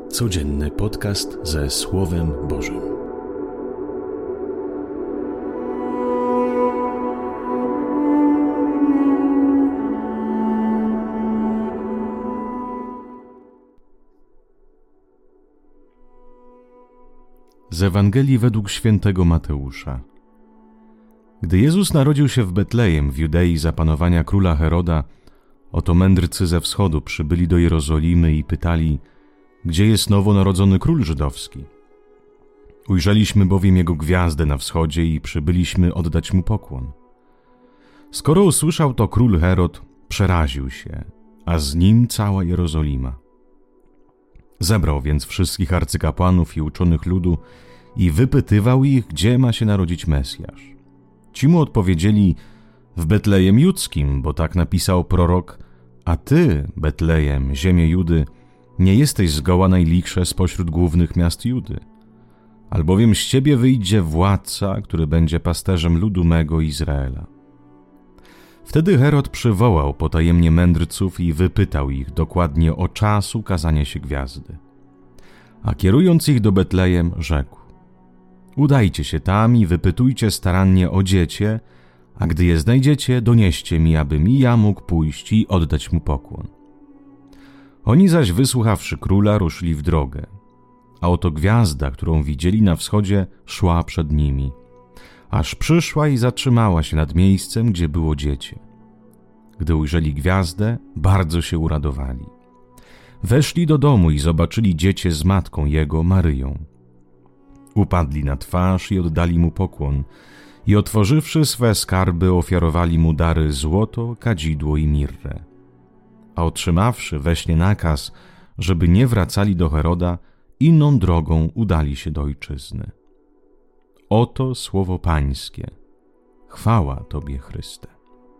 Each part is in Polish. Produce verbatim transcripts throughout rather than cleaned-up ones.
Codzienny podcast ze Słowem Bożym. Z Ewangelii według świętego Mateusza. Gdy Jezus narodził się w Betlejem w Judei za panowania króla Heroda, oto mędrcy ze wschodu przybyli do Jerozolimy i pytali: gdzie jest nowonarodzony król żydowski? Ujrzeliśmy bowiem jego gwiazdę na wschodzie i przybyliśmy oddać mu pokłon. Skoro usłyszał to król Herod, przeraził się, a z nim cała Jerozolima. Zebrał więc wszystkich arcykapłanów i uczonych ludu i wypytywał ich, gdzie ma się narodzić Mesjasz. Ci mu odpowiedzieli: w Betlejem Judzkim, bo tak napisał prorok: a ty, Betlejem, ziemię Judy, nie jesteś zgoła najlichsze spośród głównych miast Judy, albowiem z ciebie wyjdzie władca, który będzie pasterzem ludu mego Izraela. Wtedy Herod przywołał potajemnie mędrców i wypytał ich dokładnie o czas ukazania się gwiazdy. A kierując ich do Betlejem, rzekł: udajcie się tam i wypytujcie starannie o dziecię, a gdy je znajdziecie, donieście mi, abym i ja mógł pójść i oddać mu pokłon. Oni zaś, wysłuchawszy króla, ruszyli w drogę, a oto gwiazda, którą widzieli na wschodzie, szła przed nimi, aż przyszła i zatrzymała się nad miejscem, gdzie było dziecię. Gdy ujrzeli gwiazdę, bardzo się uradowali. Weszli do domu i zobaczyli dziecię z matką jego, Maryją. Upadli na twarz i oddali mu pokłon i otworzywszy swe skarby, ofiarowali mu dary: złoto, kadzidło i mirrę. A otrzymawszy we śnie nakaz, żeby nie wracali do Heroda, inną drogą udali się do ojczyzny. Oto słowo Pańskie. Chwała Tobie, Chryste.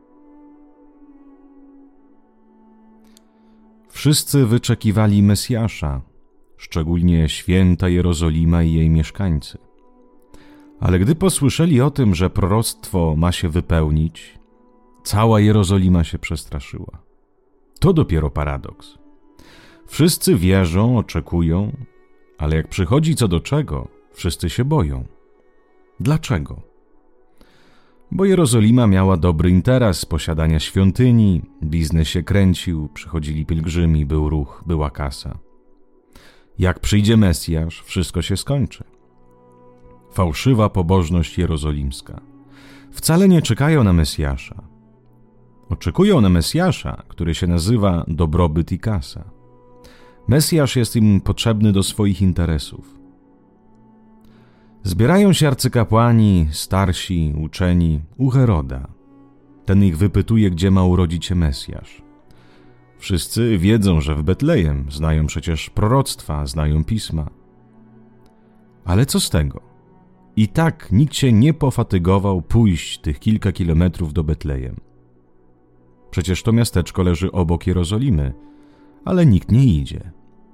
Wszyscy wyczekiwali Mesjasza, szczególnie święta Jerozolima i jej mieszkańcy. Ale gdy posłyszeli o tym, że proroctwo ma się wypełnić, cała Jerozolima się przestraszyła. To dopiero paradoks. Wszyscy wierzą, oczekują, ale jak przychodzi co do czego, wszyscy się boją. Dlaczego? Bo Jerozolima miała dobry interes z posiadania świątyni, biznes się kręcił, przychodzili pielgrzymi, był ruch, była kasa. Jak przyjdzie Mesjasz, wszystko się skończy. Fałszywa pobożność jerozolimska. Wcale nie czekają na Mesjasza. Oczekują na Mesjasza, który się nazywa dobrobyt i kasa. Mesjasz jest im potrzebny do swoich interesów. Zbierają się arcykapłani, starsi, uczeni u Heroda. Ten ich wypytuje, gdzie ma urodzić się Mesjasz. Wszyscy wiedzą, że w Betlejem, znają przecież proroctwa, znają pisma. Ale co z tego? I tak nikt się nie pofatygował pójść tych kilka kilometrów do Betlejem. Przecież to miasteczko leży obok Jerozolimy, ale nikt nie idzie.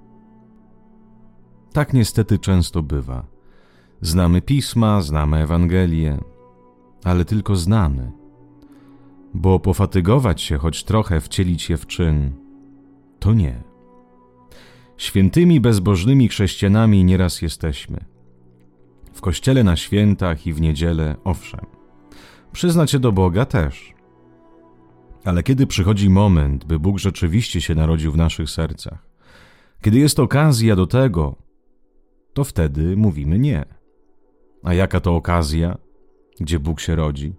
Tak niestety często bywa. Znamy pisma, znamy Ewangelię, ale tylko znamy. Bo pofatygować się choć trochę, wcielić je w czyn, to nie. Świętymi, bezbożnymi chrześcijanami nieraz jesteśmy. W kościele na świętach i w niedzielę, owszem. Przyznać się do Boga też. Ale kiedy przychodzi moment, by Bóg rzeczywiście się narodził w naszych sercach, kiedy jest okazja do tego, to wtedy mówimy nie. A jaka to okazja, gdzie Bóg się rodzi?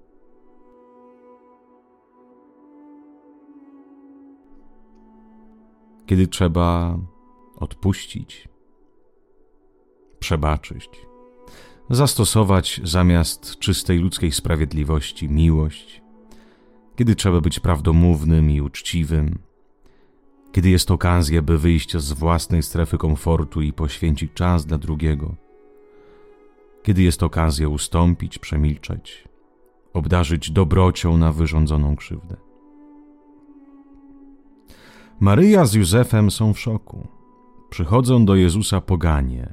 Kiedy trzeba odpuścić, przebaczyć, zastosować zamiast czystej ludzkiej sprawiedliwości miłość, kiedy trzeba być prawdomównym i uczciwym, kiedy jest okazja, by wyjść z własnej strefy komfortu i poświęcić czas dla drugiego, kiedy jest okazja ustąpić, przemilczeć, obdarzyć dobrocią na wyrządzoną krzywdę. Maryja z Józefem są w szoku. Przychodzą do Jezusa poganie.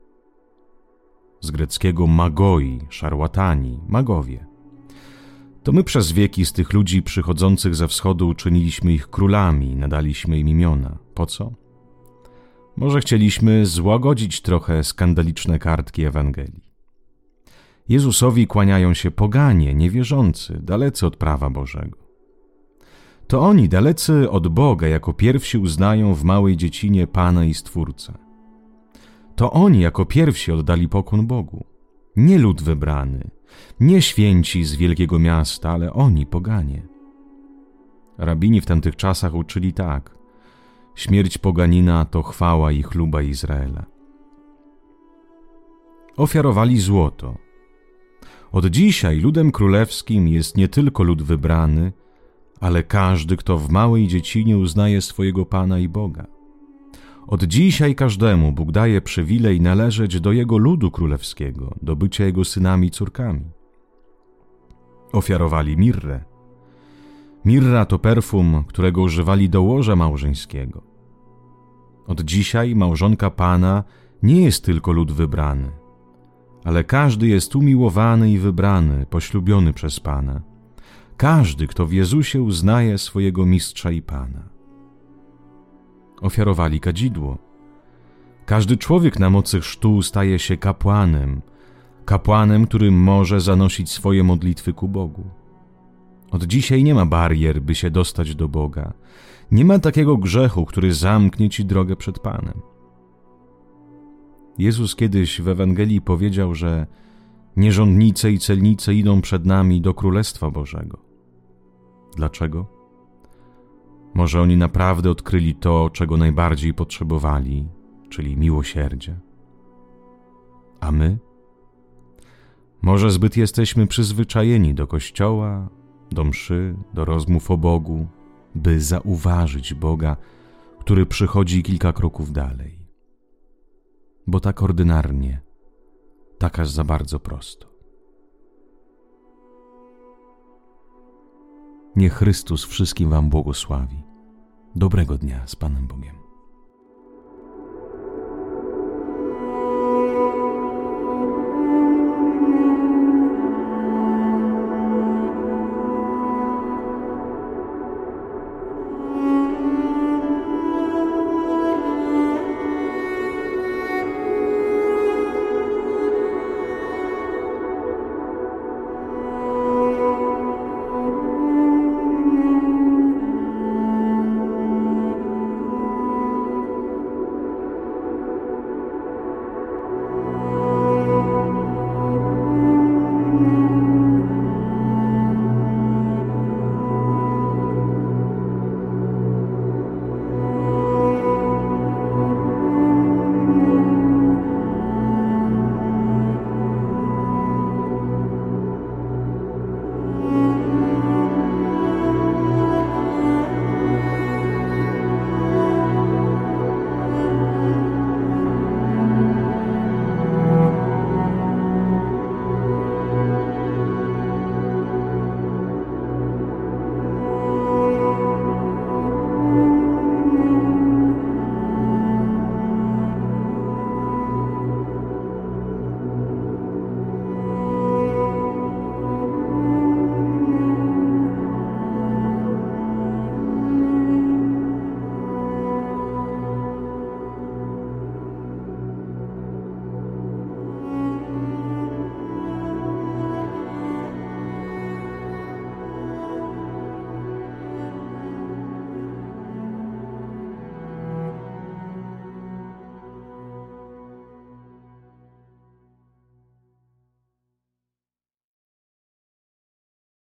Z greckiego magoi, szarłatani, magowie. To my przez wieki z tych ludzi przychodzących ze wschodu uczyniliśmy ich królami, nadaliśmy im imiona. Po co? Może chcieliśmy złagodzić trochę skandaliczne kartki Ewangelii. Jezusowi kłaniają się poganie, niewierzący, dalecy od prawa Bożego. To oni, dalecy od Boga, jako pierwsi uznają w małej dziecinie Pana i Stwórcę. To oni jako pierwsi oddali pokłon Bogu. Nie lud wybrany, nie święci z wielkiego miasta, ale oni, poganie. Rabini w tamtych czasach uczyli tak: śmierć poganina to chwała i chluba Izraela. Ofiarowali złoto. Od dzisiaj ludem królewskim jest nie tylko lud wybrany, ale każdy, kto w małej dziecinie uznaje swojego Pana i Boga. Od dzisiaj każdemu Bóg daje przywilej należeć do Jego ludu królewskiego, do bycia Jego synami i córkami. Ofiarowali mirrę. Mirra to perfum, którego używali do łoża małżeńskiego. Od dzisiaj małżonka Pana nie jest tylko lud wybrany, ale każdy jest umiłowany i wybrany, poślubiony przez Pana. Każdy, kto w Jezusie uznaje swojego Mistrza i Pana. Ofiarowali kadzidło. Każdy człowiek na mocy chrztu staje się kapłanem, kapłanem, który może zanosić swoje modlitwy ku Bogu. Od dzisiaj nie ma barier, by się dostać do Boga. Nie ma takiego grzechu, który zamknie ci drogę przed Panem. Jezus kiedyś w Ewangelii powiedział, że nierządnice i celnice idą przed nami do Królestwa Bożego. Dlaczego? Może oni naprawdę odkryli to, czego najbardziej potrzebowali, czyli miłosierdzie. A my? Może zbyt jesteśmy przyzwyczajeni do kościoła, do mszy, do rozmów o Bogu, by zauważyć Boga, który przychodzi kilka kroków dalej. Bo tak ordynarnie, tak aż za bardzo prosto. Niech Chrystus wszystkim wam błogosławi. Dobrego dnia z Panem Bogiem.